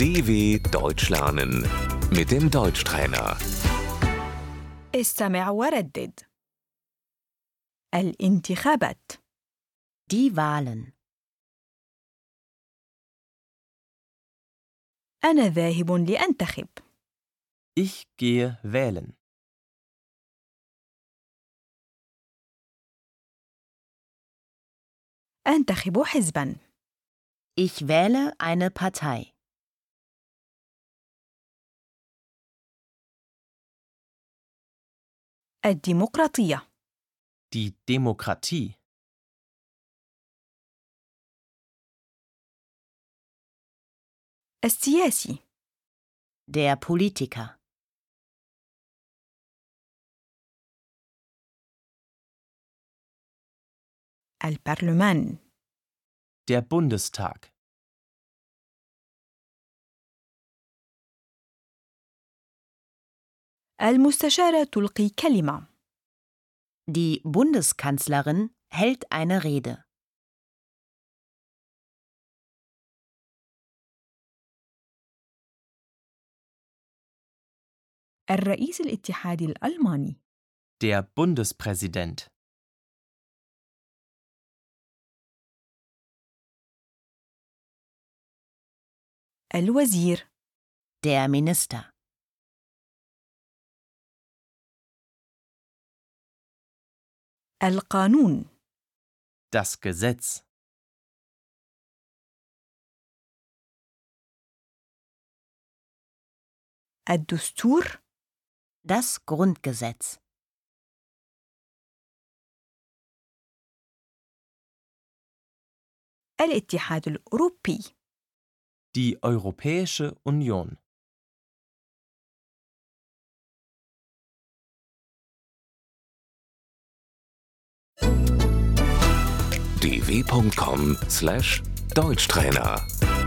DW Deutsch lernen mit dem Deutschtrainer. استمع وردد. الانتخابات. Die Wahlen. أنا ذاهب لأنتخب. Ich gehe wählen. أنتخب حزباً. Ich wähle eine Partei. الديمقراطية. Die Demokratie. السياسي. Der Politiker. البرلمان. Der Bundestag. المستشارة تلقي كلمة. Die Bundeskanzlerin hält eine Rede. الرئيس الاتحادي الألماني. Der Bundespräsident. الوزير. Der Minister. القانون. Das Gesetz. الدستور. Das Grundgesetz. الاتحاد الأوروبي. Die Europäische Union. dw.com/Deutschtrainer